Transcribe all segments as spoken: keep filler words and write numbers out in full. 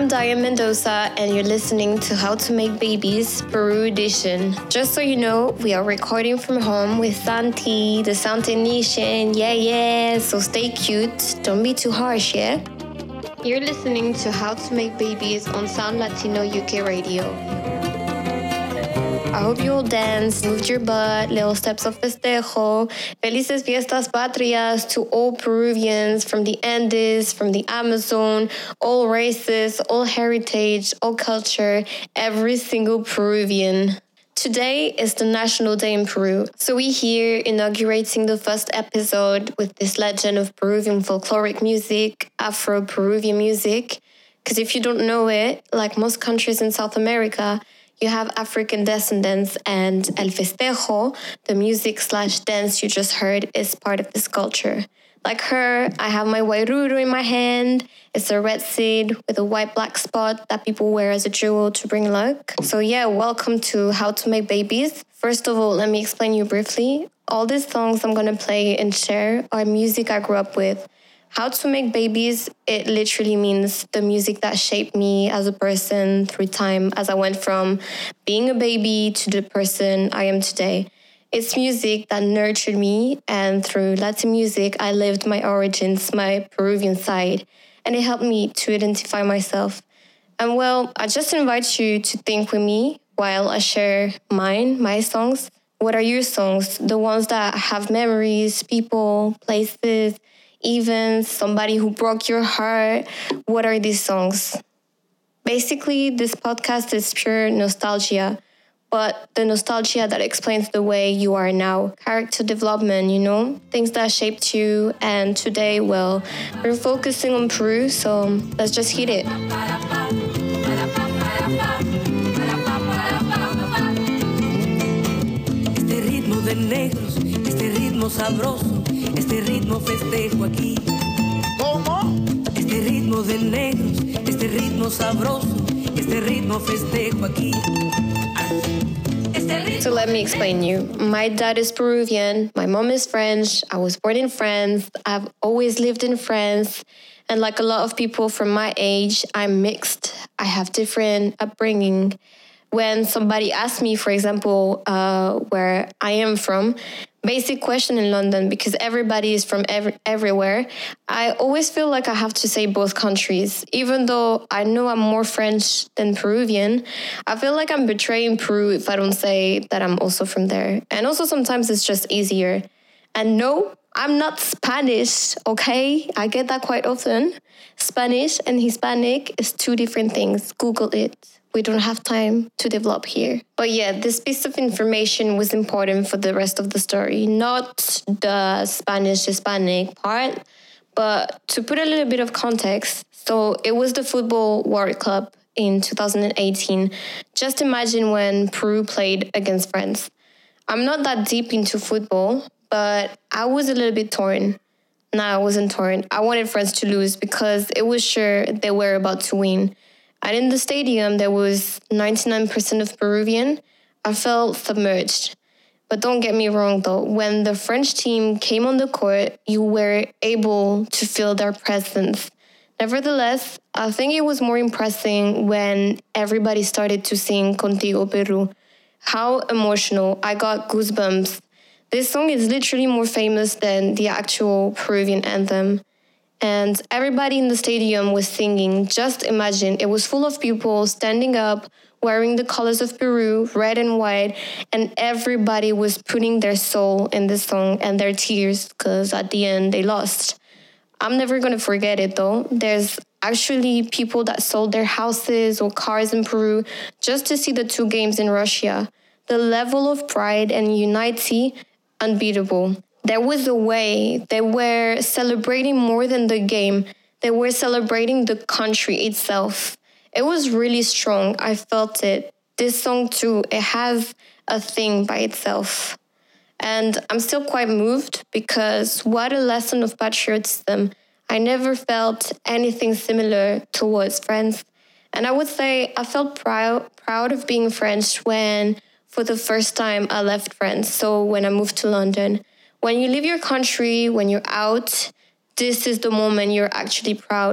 I'm Diane Mendoza, and you're listening to How to Make Babies, Peru Edition. Just so you know, we are recording from home with Santi, the Santi Nation, yeah, yeah, so stay cute, don't be too harsh, yeah? You're listening to How to Make Babies on Sound Latino U K Radio. I hope you all danced, moved your butt, little steps of festejo. Felices fiestas patrias to all Peruvians from the Andes, from the Amazon, all races, all heritage, all culture, every single Peruvian. Today is the National Day in Peru, so we're here inaugurating the first episode with this legend of Peruvian folkloric music, Afro-Peruvian music. Because if you don't know it, like most countries in South America, you have African descendants, and El Festejo, the music slash dance you just heard, is part of this culture. Like her, I have my wairuru in my hand. It's a red seed with a white-black spot that people wear as a jewel to bring luck. So yeah, welcome to How to Make Babies. First of all, let me explain you briefly. All these songs I'm gonna play and share are music I grew up with. How to Make Babies, it literally means the music that shaped me as a person through time as I went from being a baby to the person I am today. It's music that nurtured me, and through Latin music, I lived my origins, my Peruvian side, and it helped me to identify myself. And well, I just invite you to think with me while I share mine, my songs. What are your songs? The ones that have memories, people, places, events, somebody who broke your heart. What are these songs? Basically, this podcast is pure nostalgia, but the nostalgia that explains the way you are now. Character development, you know, things that shaped you. And today, well, we're focusing on Peru, so let's just hit it. Este ritmo de negros, este ritmo sabroso, este ritmo festejo aquí. ¿Cómo? Este ritmo de negros, este ritmo sabroso, este ritmo festejo aquí. So let me explain you. My dad is Peruvian, my mom is French, I was born in France, I've always lived in France, and like a lot of people from my age, I'm mixed. I have different upbringing. When somebody asks me, for example, uh, where I am from, basic question in London, because everybody is from every, everywhere, I always feel like I have to say both countries. Even though I know I'm more French than Peruvian, I feel like I'm betraying Peru if I don't say that I'm also from there. And also sometimes it's just easier. And no, I'm not Spanish, okay? I get that quite often. Spanish and Hispanic is two different things. Google it. We don't have time to develop here. But yeah, this piece of information was important for the rest of the story. Not the Spanish-Hispanic part, but to put a little bit of context. So it was the Football World Cup in two thousand eighteen. Just imagine when Peru played against France. I'm not that deep into football, but I was a little bit torn. No, I wasn't torn. I wanted France to lose because it was sure they were about to win. And in the stadium, there was ninety-nine percent of Peruvian. I felt submerged. But don't get me wrong, though. When the French team came on the court, you were able to feel their presence. Nevertheless, I think it was more impressive when everybody started to sing Contigo Peru. How emotional. I got goosebumps. This song is literally more famous than the actual Peruvian anthem. And everybody in the stadium was singing. Just imagine, it was full of people standing up, wearing the colors of Peru, red and white, and everybody was putting their soul in this song and their tears, because at the end they lost. I'm never going to forget it though. There's actually people that sold their houses or cars in Peru just to see the two games in Russia. The level of pride and unity, unbeatable. There was a way they were celebrating more than the game. They were celebrating the country itself. It was really strong. I felt it. This song too, it has a thing by itself. And I'm still quite moved because what a lesson of patriotism. I never felt anything similar towards France. And I would say I felt proud, proud of being French when, for the first time, I left France. So when I moved to London. When you leave your country, when you're out, this is the moment you're actually proud.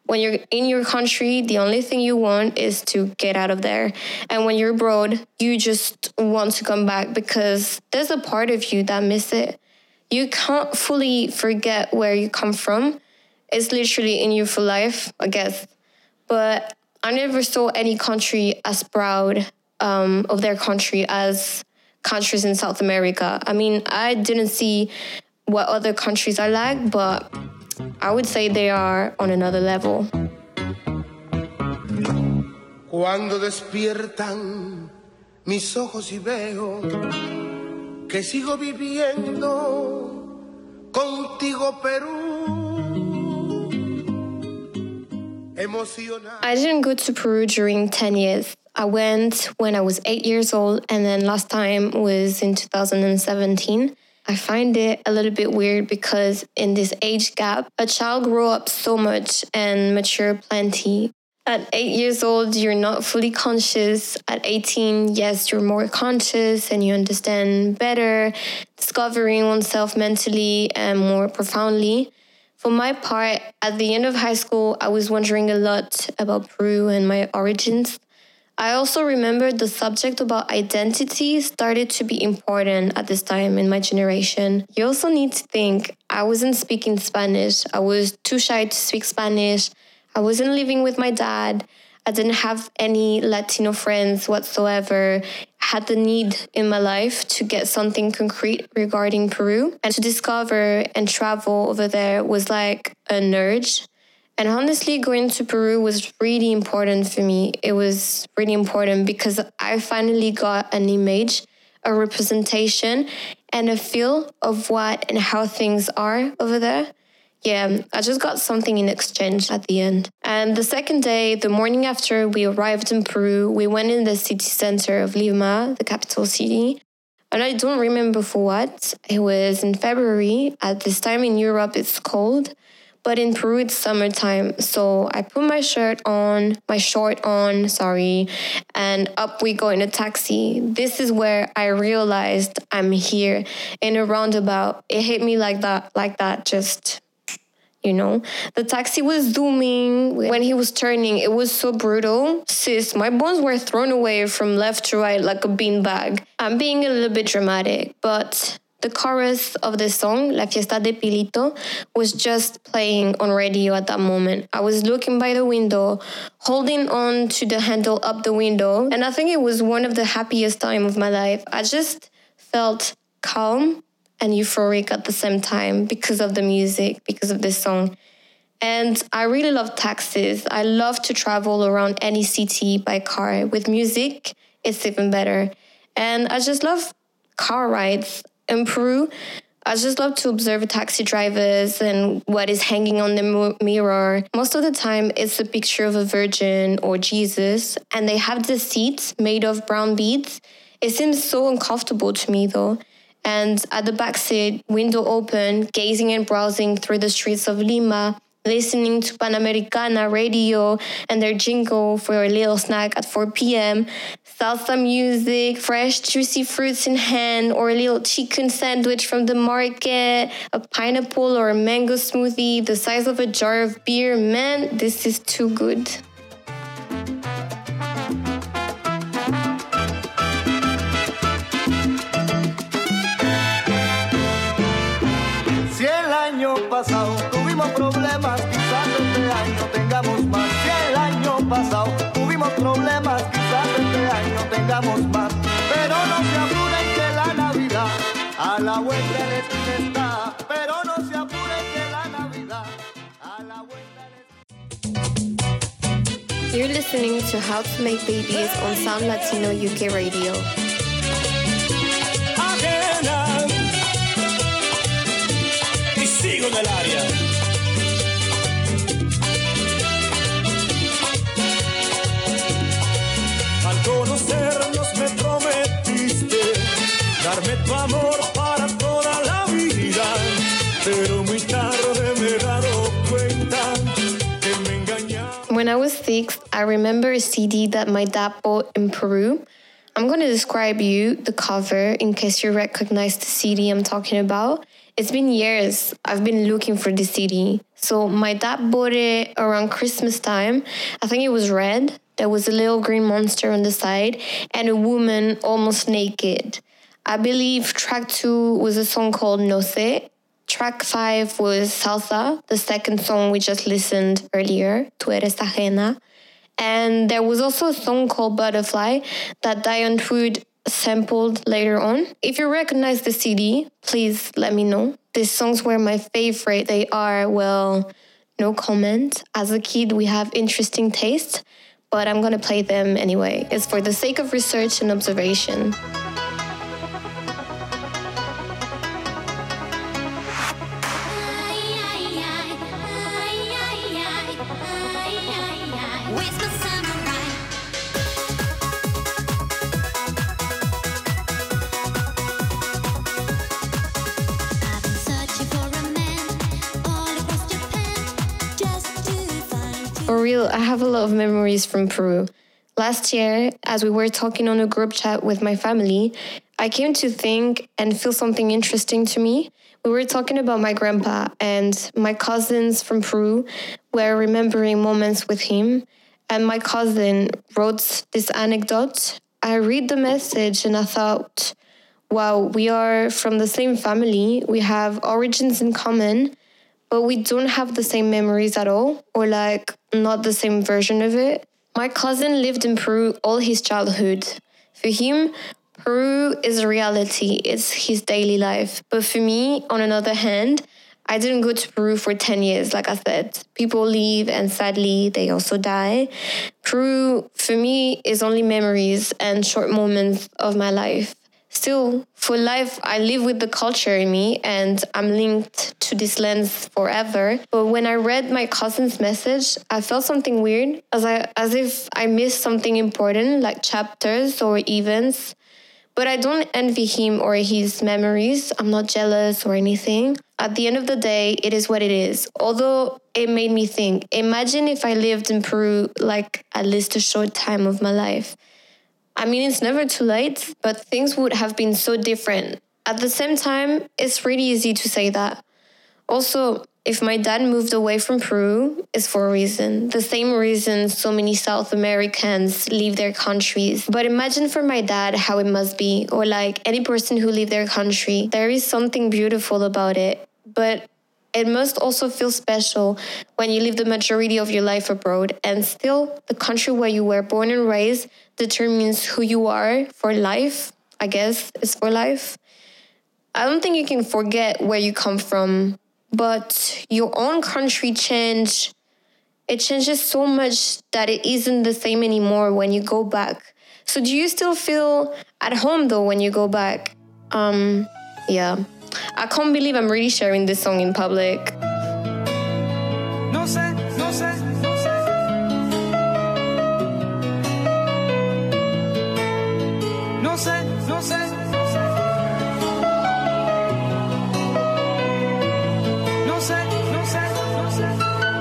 When you're in your country, the only thing you want is to get out of there. And when you're abroad, you just want to come back because there's a part of you that miss it. You can't fully forget where you come from. It's literally in you for life, I guess. But I never saw any country as proud um, of their country as countries in South America. I mean, I didn't see what other countries are like, but I would say they are on another level. Cuando despiertan mis ojos y veo que sigo viviendo contigo, Perú. I didn't go to Peru during ten years. I went when I was eight years old, and then last time was in two thousand seventeen. I find it a little bit weird because in this age gap, a child grows up so much and mature plenty. At eight years old, you're not fully conscious. At eighteen, yes, you're more conscious and you understand better, discovering oneself mentally and more profoundly. For my part, at the end of high school, I was wondering a lot about Peru and my origins. I also remember the subject about identity started to be important at this time in my generation. You also need to think, I wasn't speaking Spanish. I was too shy to speak Spanish. I wasn't living with my dad. I didn't have any Latino friends whatsoever. I had the need in my life to get something concrete regarding Peru. And to discover and travel over there was like an urge. And honestly, going to Peru was really important for me. It was really important because I finally got an image, a representation, and a feel of what and how things are over there. Yeah, I just got something in exchange at the end. And the second day, the morning after we arrived in Peru, we went in the city center of Lima, the capital city. And I don't remember for what. It was in February. At this time in Europe, it's cold. But in Peru, it's summertime. So I put my shirt on, my short on, sorry, and up we go in a taxi. This is where I realized I'm here in a roundabout. It hit me like that, like that, just... You know, the taxi was zooming. When he was turning, it was so brutal. Sis, my bones were thrown away from left to right like a beanbag. I'm being a little bit dramatic, but the chorus of the song, La Fiesta de Pilito, was just playing on radio at that moment. I was looking by the window, holding on to the handle up the window, and I think it was one of the happiest times of my life. I just felt calm and euphoric at the same time because of the music, because of this song. And I really love taxis. I love to travel around any city by car. With music, it's even better. And I just love car rides. In Peru, I just love to observe taxi drivers and what is hanging on the mirror. Most of the time, it's a picture of a virgin or Jesus, and they have the seats made of brown beads. It seems so uncomfortable to me, though. And at the back seat, window open, gazing and browsing through the streets of Lima, listening to Panamericana radio and their jingle for a little snack at four p.m., salsa music, fresh juicy fruits in hand, or a little chicken sandwich from the market, a pineapple or a mango smoothie the size of a jar of beer. Man, this is too good. Pasado, tuvimos problemas, quizás este año tengamos más. Si el año pasado tuvimos problemas, quizás este año tengamos más. Pero no se apuren que la Navidad a la vuelta de la esquina está. Pero no se apuren que la Navidad a la vuelta de la esquina. You're listening to How to Make Babies on Sound Latino U K Radio. Sigo en el área. Al conocernos me prometiste darme tu amor para toda la vida, pero muy tarde me he dado cuenta que me engañaba. When I was six, I remember a C D that my dad bought in Peru. I'm going to describe you the cover in case you recognize the C D I'm talking about. It's been years I've been looking for the C D. So my dad bought it around Christmas time. I think it was red. There was a little green monster on the side and a woman almost naked. I believe track two was a song called No Sé. Track five was Salsa, the second song we just listened earlier, Tu eres ajena. And there was also a song called Butterfly that Diane Wood sampled later on. If you recognize the C D, please let me know. These songs were my favorite. They are, well, no comment. As a kid, we have interesting taste, but I'm going to play them anyway. It's for the sake of research and observation. For real, I have a lot of memories from Peru. Last year, as we were talking on a group chat with my family, I came to think and feel something interesting to me. We were talking about my grandpa, and my cousins from Peru were remembering moments with him. And my cousin wrote this anecdote. I read the message and I thought, wow, we are from the same family. We have origins in common, but we don't have the same memories at all, or like not the same version of it. My cousin lived in Peru all his childhood. For him, Peru is a reality. It's his daily life. But for me, on another hand, I didn't go to Peru for ten years, like I said. People leave and sadly, they also die. Peru, for me, is only memories and short moments of my life. Still, for life, I live with the culture in me and I'm linked to this lands forever. But when I read my cousin's message, I felt something weird, as I as if I missed something important, like chapters or events. But I don't envy him or his memories. I'm not jealous or anything. At the end of the day, it is what it is. Although it made me think, imagine if I lived in Peru like at least a short time of my life. I mean, it's never too late, but things would have been so different. At the same time, it's really easy to say that. Also, if my dad moved away from Peru, it's for a reason. The same reason so many South Americans leave their countries. But imagine for my dad how it must be, or like any person who leave their country. There is something beautiful about it, but it must also feel special when you live the majority of your life abroad, and still the country where you were born and raised determines who you are for life, I guess, is for life. I don't think you can forget where you come from, but your own country change, it changes so much that it isn't the same anymore when you go back. So do you still feel at home though when you go back? Um, yeah. I can't believe I'm really sharing this song in public. No sé, no sé, no sé. No sé, no sé, no sé. No sé, no sé, no sé.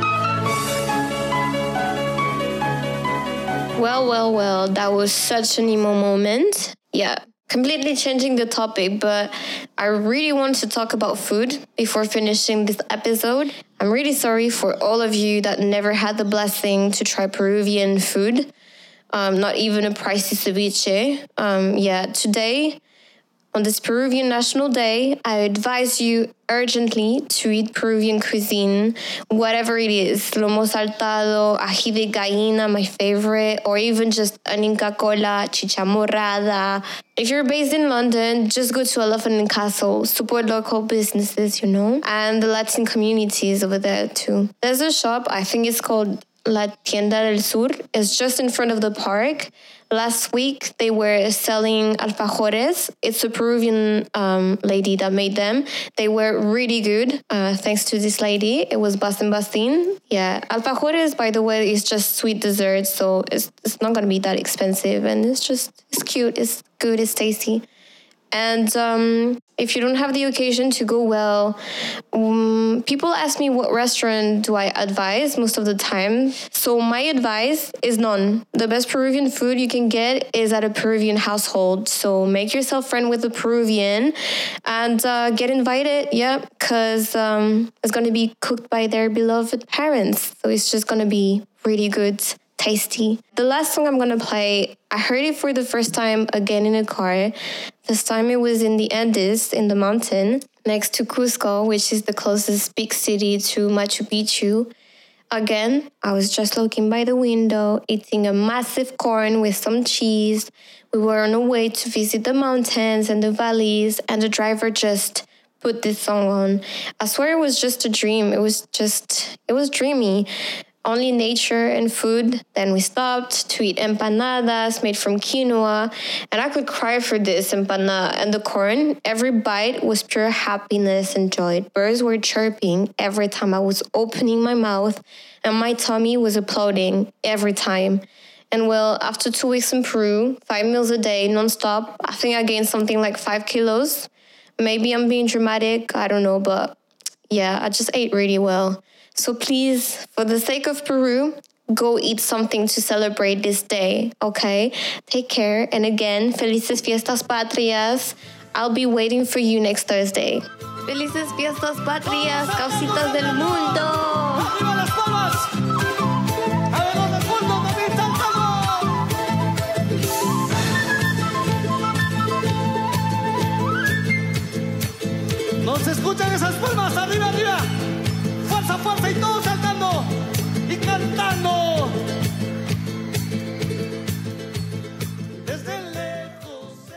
Well, well, well, that was such an emo moment. Yeah. Completely changing the topic, but I really want to talk about food before finishing this episode. I'm really sorry for all of you that never had the blessing to try Peruvian food, um, not even a pricey ceviche. Um, yeah, today, on this Peruvian National Day, I advise you urgently to eat Peruvian cuisine, whatever it is. Lomo saltado, ají de gallina, my favorite, or even just an Inca Cola, chicha morada. If you're based in London, just go to Elephant and Castle, support local businesses, you know, and the Latin communities over there too. There's a shop, I think it's called La Tienda del Sur. It's just in front of the park. Last week, they were selling alfajores. It's a Peruvian um, lady that made them. They were really good, uh, thanks to this lady. It was Basen Basin. Yeah, alfajores, by the way, is just sweet dessert, so it's it's not going to be that expensive. And it's just, it's cute, it's good, it's tasty. And um, if you don't have the occasion to go well, um, people ask me what restaurant do I advise most of the time. So my advice is none. The best Peruvian food you can get is at a Peruvian household. So make yourself friend with a Peruvian and uh, get invited. Yeah, because um, it's going to be cooked by their beloved parents. So it's just going to be really good. Tasty. The last song I'm going to play, I heard it for the first time again in a car. This time it was in the Andes, in the mountain, next to Cusco, which is the closest big city to Machu Picchu. Again, I was just looking by the window, eating a massive corn with some cheese. We were on our way to visit the mountains and the valleys, and the driver just put this song on. I swear it was just a dream. It was just, it was dreamy. Only nature and food. Then we stopped to eat empanadas made from quinoa. And I could cry for this empanada and the corn. Every bite was pure happiness and joy. Birds were chirping every time I was opening my mouth. And my tummy was applauding every time. And well, after two weeks in Peru, five meals a day, nonstop, I think I gained something like five kilos. Maybe I'm being dramatic. I don't know. But yeah, I just ate really well. So please, for the sake of Peru, go eat something to celebrate this day, okay? Take care. And again, Felices Fiestas Patrias. I'll be waiting for you next Thursday. Felices Fiestas Patrias, causitas del mundo. ¡Arriba las palmas! ¡A ver los del mundo también saltando! ¿No se escuchan esas palmas? ¡Arriba, arriba! ¡Fuerza, fuerza! Y todos saltando y cantando.